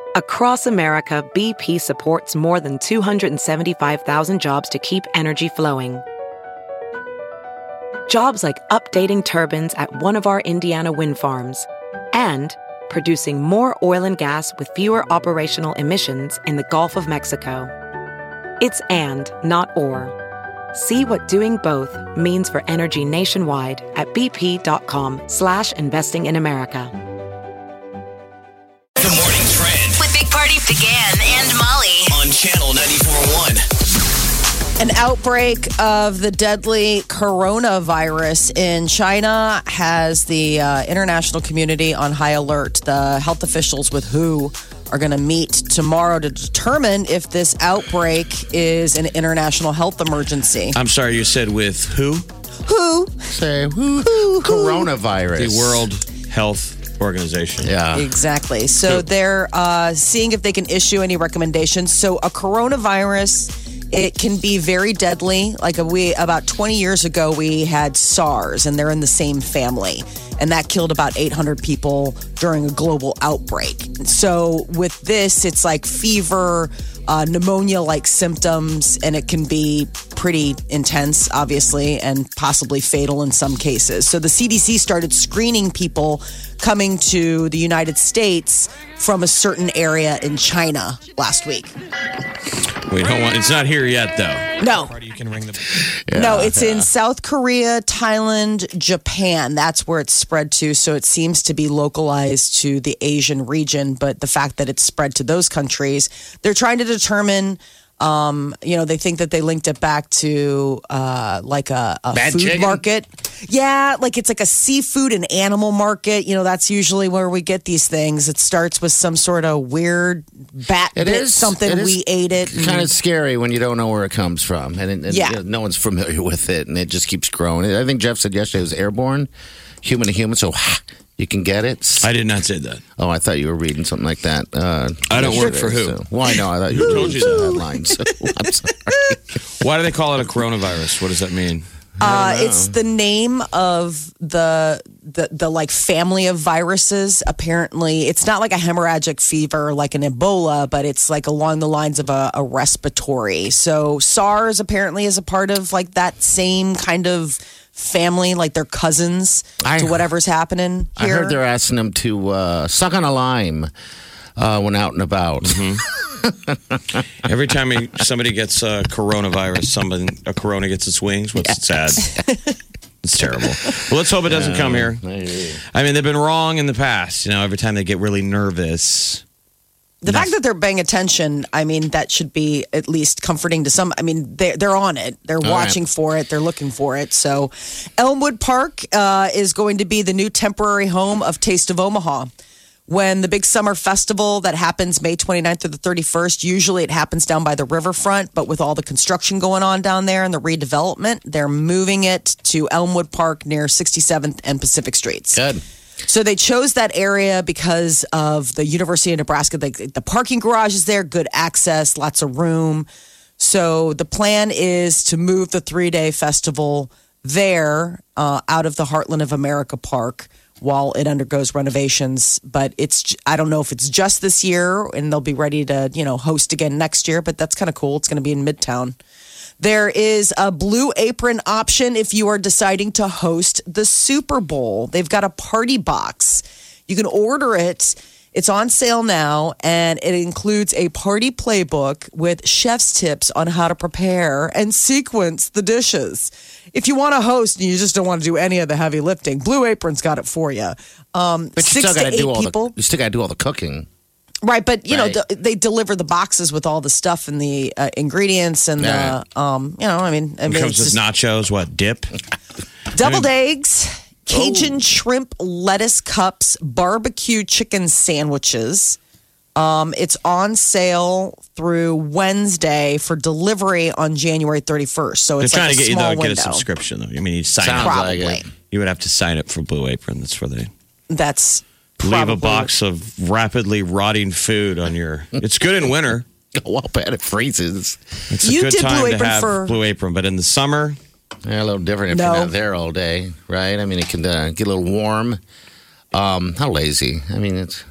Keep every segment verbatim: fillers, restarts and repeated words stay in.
Across America, B P supports more than two hundred seventy-five thousand jobs to keep energy flowing. Jobs like updating turbines at one of our Indiana wind farms and producing more oil and gas with fewer operational emissions in the Gulf of Mexico. It's and, not or. See what doing both means for energy nationwide at bp.com slash investing in America. The Morning Trend with Big Party began and Molly on Channel ninety-four point one. An outbreak of the deadly coronavirus in China has the uh, international community on high alert. The health officials with W H O are going to meet tomorrow to determine if this outbreak is an international health emergency. I'm sorry, you said with who? Who? Say who? who? Coronavirus. The World Health Organization. Yeah. Exactly. So they're uh, seeing if they can issue any recommendations. So a coronavirus, it can be very deadly. Like a, we about twenty years ago, we had SARS, and they're in the same family. And that killed about eight hundred people during a global outbreak. So with this, it's like fever, uh, pneumonia-like symptoms, and it can be pretty intense, obviously, and possibly fatal in some cases. So the C D C started screening people coming to the United States from a certain area in China last week. We don't want. It's not here yet, though. No. You can ring the. Yeah, no, it's yeah. in South Korea, Thailand, Japan. That's where it's spread to. So it seems to be localized to the Asian region. But the fact that it's spread to those countries, they're trying to determine. Um, you know, they think that they linked it back to uh, like a, a Bad food chicken? market. Yeah, like it's like a seafood and animal market. You know, that's usually where we get these things. It starts with some sort of weird bat It bit is something. it is We ate it. and- Kind of scary when you don't know where it comes from, and, and Yeah. you know, no one's familiar with it, and it just keeps growing. I think Jeff said yesterday it was airborne, human to human, so you can get it. I did not say that. Oh, I thought you were reading something like that. Uh, I don't work yesterday, for who? So. Well, I know. I thought you were Told reading you some that. headlines. So I'm sorry. Why do they call it a coronavirus? What does that mean? Uh, it's the name of the, the the like family of viruses. Apparently, it's not like a hemorrhagic fever like an Ebola, but it's like along the lines of a, a respiratory. So SARS apparently is a part of like that same kind of family, like they're cousins I to heard- whatever's happening I here. heard they're asking them to uh, suck on a lime uh, when out and about. Every time he, somebody gets a coronavirus, someone a corona gets its wings. What's sad? It's terrible. Well, let's hope it doesn't come here. I mean, they've been wrong in the past. You know, every time they get really nervous. The fact that they're paying attention, I mean, that should be at least comforting to some. I mean, they're, they're on it. They're watching right. for it. They're looking for it. So Elmwood Park uh, is going to be the new temporary home of Taste of Omaha. When the big summer festival that happens May twenty-ninth through the thirty-first, usually it happens down by the riverfront, but with all the construction going on down there and the redevelopment, they're moving it to Elmwood Park near sixty-seventh and Pacific Streets. Good. So they chose that area because of the University of Nebraska. The, the parking garage is there, good access, lots of room. So the plan is to move the three-day festival there uh, out of the Heartland of America Park while it undergoes renovations. But it's I don't know if it's just this year and they'll be ready to, you know, host again next year. But that's kind of cool. It's going to be in Midtown. There is a Blue Apron option if you are deciding to host the Super Bowl. They've got a party box. You can order it. It's on sale now, and it includes a party playbook with chef's tips on how to prepare and sequence the dishes. If you want to host and you just don't want to do any of the heavy lifting, Blue Apron's got it for you. Um, But you six still to got to eight do all people. the. You still got to do all the cooking. Right, but you Right. know d- they deliver the boxes with all the stuff and the uh, ingredients and Yeah. the um, you know, I mean, I It mean, comes it's with just nachos. What dip? deviled eggs, Cajun shrimp lettuce cups, barbecue chicken sandwiches. Um, it's on sale through Wednesday for delivery on January thirty-first. So They're it's trying like to a get you small though get a window. subscription though. I mean, you sign Sounds up. like Probably. it. You would have to sign up for Blue Apron. That's where they That's leave probably a box of rapidly rotting food on your. It's good in winter. Oh, well, bad it freezes. It's a You good did time Blue to Apron have for- Blue Apron, but in the summer, Yeah, a little different if No. you're not there all day, right? I mean, it can uh, get a little warm. Um, how lazy? I mean, it's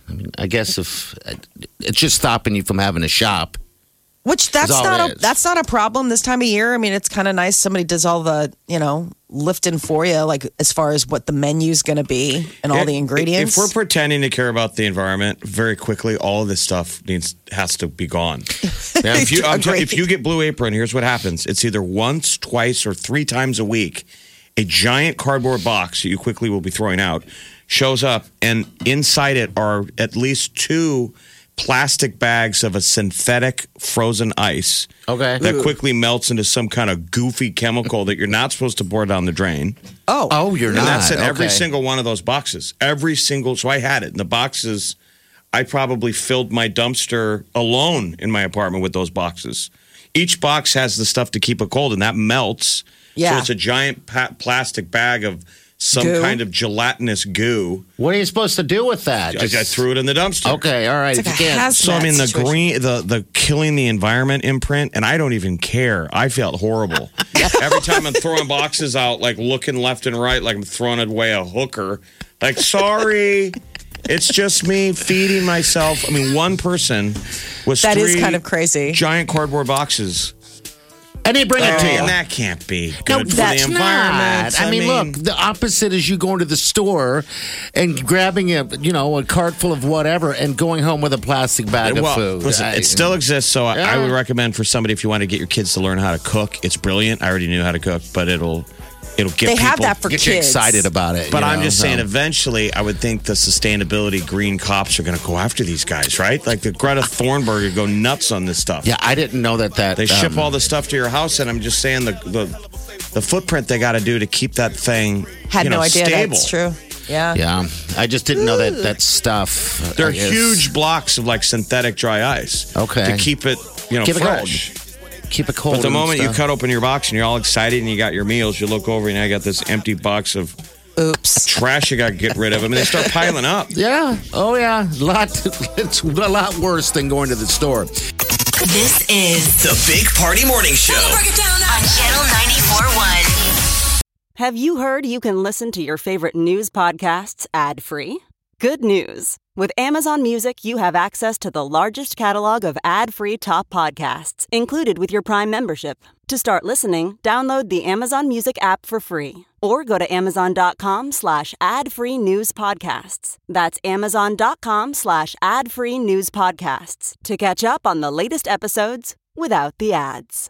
I mean, I guess if it's just stopping you from having a shop. Which that's all not it a is. that's not a problem this time of year. I mean, it's kind of nice somebody does all the you know lifting for you, like as far as what the menu's going to be and all the ingredients. If we're pretending to care about the environment, very quickly, all of this stuff needs has to be gone. Now, if you I'm tell- if you get Blue Apron, here's what happens: it's either once, twice, or three times a week. A giant cardboard box that you quickly will be throwing out shows up, and inside it are at least two plastic bags of a synthetic frozen ice. Okay. That quickly melts into some kind of goofy chemical that you're not supposed to pour down the drain. oh, Oh, you're And not. that's in every Okay. single one of those boxes. Every single, so I had it in the boxes. I probably filled my dumpster alone in my apartment with those boxes. Each box has the stuff to keep it cold, and that melts. Yeah. So it's a giant pa- plastic bag of some Goo. kind of gelatinous goo. What are you supposed to do with that? I, I threw it in the dumpster. Okay, all right. It's If like you a can't. hazmat So I mean the situation. green, the the killing the environment imprint, and I don't even care. I felt horrible every time I'm throwing boxes out, like looking left and right, like I'm throwing away a hooker. Like, sorry, it's just me feeding myself. I mean, one person was That is three kind of crazy. giant cardboard boxes. And they bring it to you. And that can't be good No, for the that's environment. not. I mean, look, the opposite is you going to the store and grabbing a, you know, a cart full of whatever and going home with a plastic bag well, of food. listen, I- it still exists, so I, I Yeah. would recommend for somebody if you want to get your kids to learn how to cook. It's brilliant. I already knew how to cook, but it'll it'll get They people. have that for get you kids. excited about it. But you I'm know, just so. saying, eventually, I would think the sustainability green cops are going to go after these guys, right? Like the Greta Thunberg would go nuts on this stuff. Yeah, I didn't know that. That They ship um, all the stuff to your house, and I'm just saying the the, the footprint they got to do to keep that thing Had you know, no idea stable. that's true. Yeah. Yeah, I just didn't know that that stuff. uh, They're I guess- huge blocks of like synthetic dry ice. Okay. To keep it, you know, Keep it cold. fresh. Keep it cold. But the and moment you stuff. cut open your box and you're all excited and you got your meals, you look over and I got this empty box of Oops. trash you got to get rid of. I mean, they start piling up. Yeah. Oh, yeah. A lot. It's a lot worse than going to the store. This is The Big Party Morning Show. on Channel ninety-four point one. Have you heard you can listen to your favorite news podcasts ad-free? Good news. With Amazon Music, you have access to the largest catalog of ad-free top podcasts included with your Prime membership. To start listening, download the Amazon Music app for free or go to amazon.com slash ad-free news podcasts. That's amazon.com slash ad-free news podcasts to catch up on the latest episodes without the ads.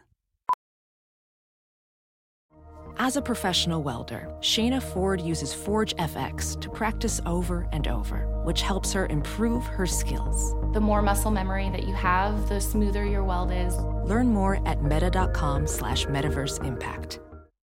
As a professional welder, Shayna Ford uses Forge F X to practice over and over, which helps her improve her skills. The more muscle memory that you have, the smoother your weld is. Learn more at meta.com slash metaverse impact.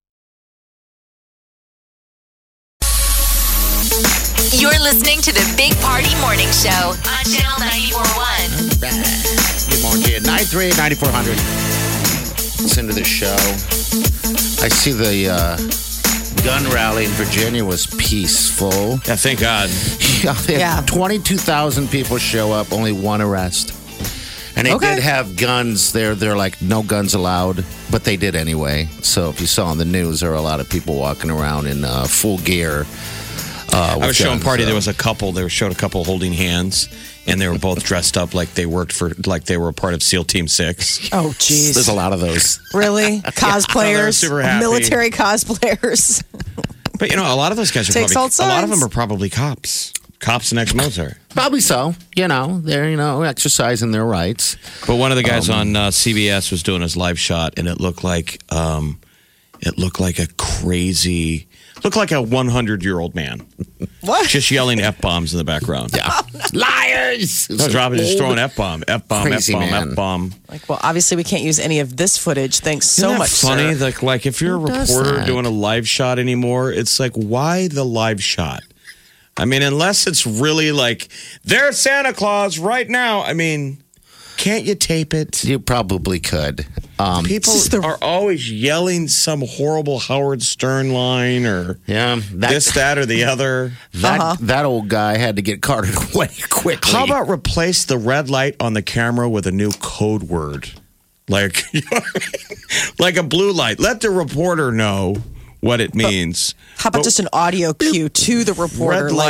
You're listening to the Big Party Morning Show on Channel ninety-four point one. Good morning to you. nine three eight, nine four hundred. Listen to the show. I see the uh, gun rally in Virginia was peaceful. Yeah, thank God. Yeah, they had Yeah. twenty-two thousand people show up, only one arrest. And they Okay. did have guns there. They're like, no guns allowed, but they did anyway. So if you saw on the news, there were a lot of people walking around in uh, full gear. Uh, I was showing guns, party. so. There was a couple. They showed a couple holding hands, and they were both dressed up like they worked for, like they were a part of SEAL Team Six. Oh, jeez. There's a lot of those. Really? Cosplayers? super happy. Military cosplayers? But you know, a lot of those guys are Takes probably all a lot of sides. them are probably cops, cops and ex-military. Probably so. You know, they're, you know, exercising their rights. But one of the guys Um, on uh, C B S was doing his live shot, and it looked like um, it looked like a crazy, looked like a one hundred year old man, What? just yelling f bombs in the background. Yeah. Liars! No, dropping, just throwing f bomb, f bomb, f Crazy bomb, man. f bomb. Like, well, obviously we can't use any of this footage. Thanks so Isn't that much, funny? sir. Like, like if you're a Who does reporter that? doing a live shot anymore, it's like, why the live shot? I mean, unless it's really like, there's Santa Claus right now. I mean, can't you tape it? You probably could. Um, People This is the- are always yelling some horrible Howard Stern line or yeah, that, this, that, or the other. that, Uh-huh. that old guy had to get carted away quickly. How about replace the red light on the camera with a new code word? Like, you know what I mean? Like a blue light. Let the reporter know what it means. How about But just an audio cue to the reporter? red like, light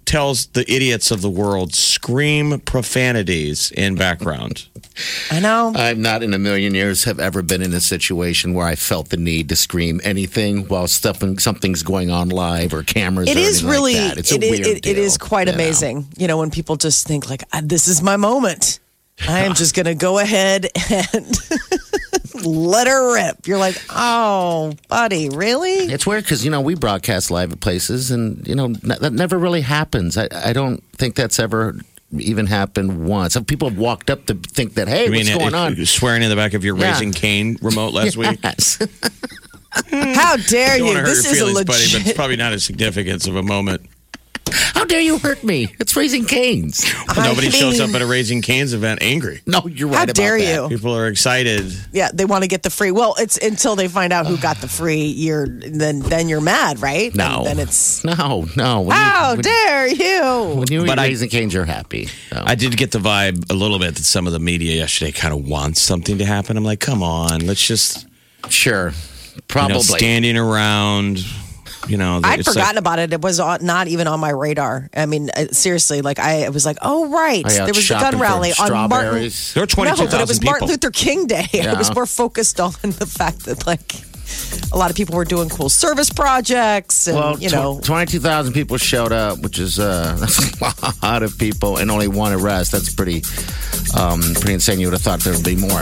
tells the idiots of the world scream profanities in background? I know. I'm not in a million years have ever been in a situation where I felt the need to scream anything while stuff, something's going on live or cameras. It or is really, like that. It's it, a weird it, it deal, is quite you know? amazing. You know, when people just think like, "Ah, this is my moment. I am just going to go ahead and let her rip. You're like, oh, buddy, really? It's weird because, you know, we broadcast live at places and, you know, n- that never really happens. I, I don't think that's ever even happened once. People have walked up to think that, hey, You what's mean going it- on? swearing in the back of your Yeah. Raising Cane remote last week? Yes. How dare Don't you? want to hurt This your is a feelings, legit. buddy, but it's probably not as significant of a moment. How dare you hurt me? It's Raising Canes. I Nobody shows up mean- at a Raising Cane's event angry. No, you're right How about dare that. you? People are excited. Yeah, they want to get the free. Well, it's until they find out who got the free. You're then then you're mad, right? No. And then it's No, no. When how you, when, dare you? when you eat But I- Raising Canes, you're happy. So. I did get the vibe a little bit that some of the media yesterday kind of wants something to happen. I'm like, come on, let's just Sure. you Probably. know, standing around. You know, I'd it's forgotten like, about it. It was on, not even on my radar. I mean, uh, seriously, like I was like, oh right, Are you out there was a shopping gun for rally on Martin. strawberries? there were twenty-two No, but it was thousand Martin people. Luther King Day. I Yeah. was more focused on the fact that like a lot of people were doing cool service projects, and Well, you know, tw- twenty-two thousand people showed up, which is uh, that's a lot of people, and only one arrest. That's pretty, um, pretty insane. You would have thought there would be more.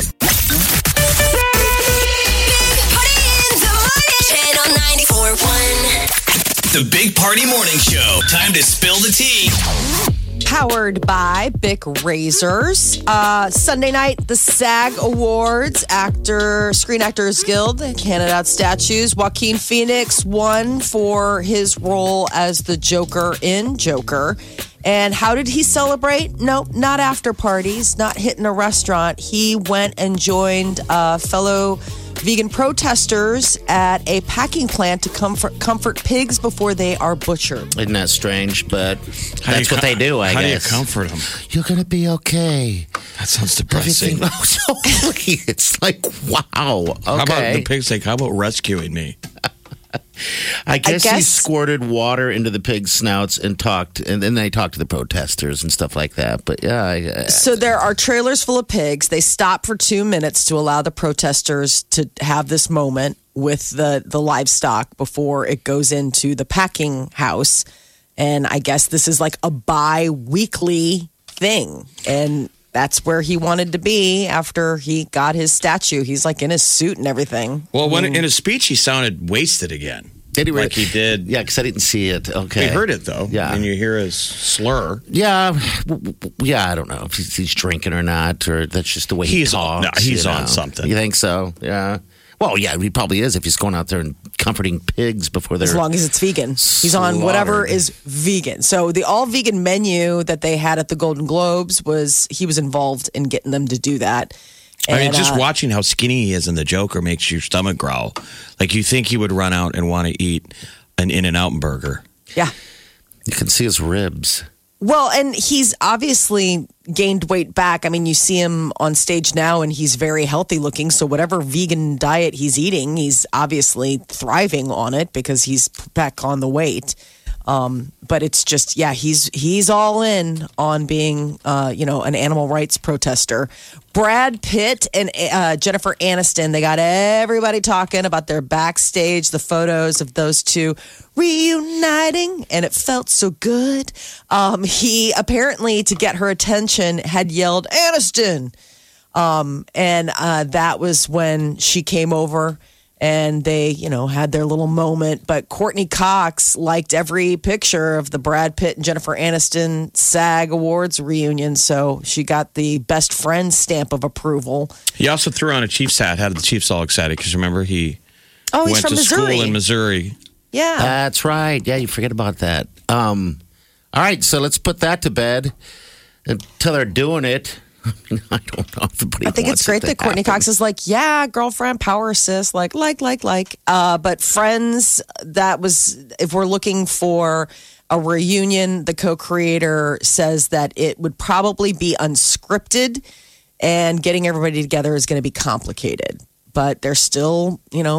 Channel ninety-four point one. The Big Party Morning Show. Time to spill the tea. powered by Bic Razors. Uh, Sunday night, the SAG Awards, Actor Screen Actors Guild handed out statues. Joaquin Phoenix won for his role as the Joker in Joker. And how did he celebrate? No, not after parties, not hitting a restaurant. He went and joined uh, fellow vegan protesters at a packing plant to comfort, comfort pigs before they are butchered. Isn't that strange? But How do that's you what they com- do, I How guess. do you comfort them? You're going to be okay. That sounds depressing. Everything. Oh, totally. It's like, wow. Okay. How about the pig's like, how about rescuing me? I guess, he guess- squirted water into the pigs' snouts and talked, and then they talked to the protesters and stuff like that. But yeah, I, So there are trailers full of pigs. They stop for two minutes to allow the protesters to have this moment with the, the livestock before it goes into the packing house. And I guess this is like a bi-weekly thing. And that's where he wanted to be after he got his statue. He's like in his suit and everything. Well, when in his speech, he sounded wasted again. did he really? Like he did. Yeah, because I didn't see it. Okay, We heard it though. Yeah. And you hear his slur. Yeah, w- w- yeah. I don't know if he's, he's drinking or not, or that's just the way he He's on- talks. no, he's you on know. something. You think so? Yeah. Well, yeah, he probably is if he's going out there and comforting pigs before they're. As long as it's vegan. He's on whatever slaughtered. is vegan. So the all vegan menu that they had at the Golden Globes was he was involved in getting them to do that. I mean, And, just uh, watching how skinny he is in the Joker makes your stomach growl. Like you think he would run out and want to eat an In-N-Out burger. yeah. You can see his ribs. Well, and he's obviously gained weight back. I mean, you see him on stage now and he's very healthy looking. So whatever vegan diet he's eating, he's obviously thriving on it because he's back on the weight. Um, but it's just, yeah, he's he's all in on being, uh, you know, an animal rights protester. Brad Pitt and uh, Jennifer Aniston, they got everybody talking about their backstage, the photos of those two reuniting, and it felt so good. Um, he apparently, to get her attention, had yelled, Aniston. Um, and uh, that was when she came over. And they, you know, had their little moment. But Courtney Cox liked every picture of the Brad Pitt and Jennifer Aniston SAG Awards reunion. So she got the best friend stamp of approval. He also threw on a Chiefs hat, had the Chiefs all excited because remember he Oh, he's went from to Missouri. school in Missouri. Yeah. That's right. Yeah, you forget about that. Um, all right, so let's put that to bed until they're doing it. I mean, I don't know. Everybody I think wants it's great it to that Courtney happen. Cox is like, yeah, girlfriend, power assist, like, like, like, like. Uh, but Friends, that was, if we're looking for a reunion, the co-creator says that it would probably be unscripted and getting everybody together is going to be complicated. But they're still, you know,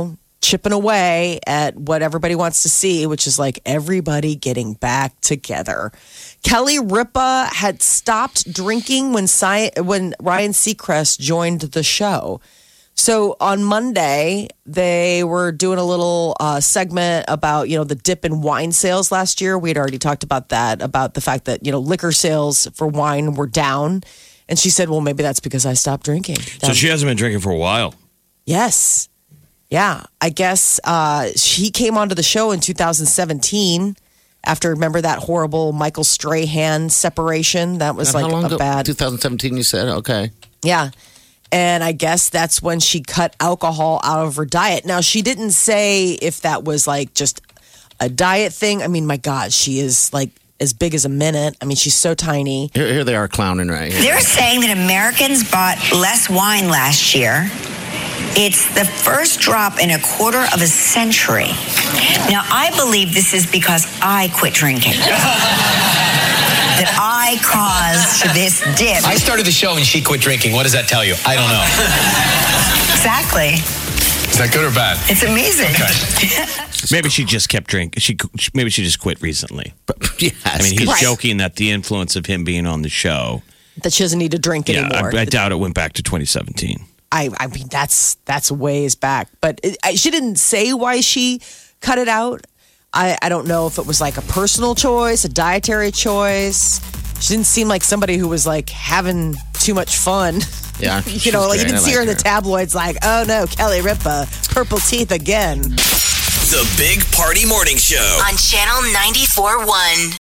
chipping away at what everybody wants to see, which is like everybody getting back together. Kelly Ripa had stopped drinking when Si- when Ryan Seacrest joined the show. So on Monday, they were doing a little uh, segment about, you know, the dip in wine sales last year. We had already talked about that, about the fact that, you know, liquor sales for wine were down. And she said, well, maybe that's because I stopped drinking. So she hasn't been drinking for a while. Yes. Yeah. I guess uh, she came onto the show in two thousand seventeen after, remember that horrible Michael Strahan separation? That was And like how long a ago? bad. twenty seventeen, you said? Okay. Yeah. And I guess that's when she cut alcohol out of her diet. Now, she didn't say if that was like just a diet thing. I mean, my God, she is like as big as a minute. I mean, she's so tiny. Here, here they are clowning right here. They're saying that Americans bought less wine last year. It's the first drop in a quarter of a century. Now, I believe this is because I quit drinking. That I caused this dip. I started the show and she quit drinking. What does that tell you? I don't know. Exactly. Is that good or bad? It's amazing. Maybe she just kept drinking. She maybe she just quit recently. Yes. I mean, he's Right. joking that the influence of him being on the show. That she doesn't need to drink Yeah, anymore. I, I doubt it went back to twenty seventeen. I, I mean, that's that's ways back. But it, I, she didn't say why she cut it out. I, I don't know if it was like a personal choice, a dietary choice. She didn't seem like somebody who was like having too much fun. Yeah. You know, like you didn't see her in the tabloids like, oh no, Kelly Ripa, purple teeth again. The Big Party Morning Show. On Channel ninety-four point one.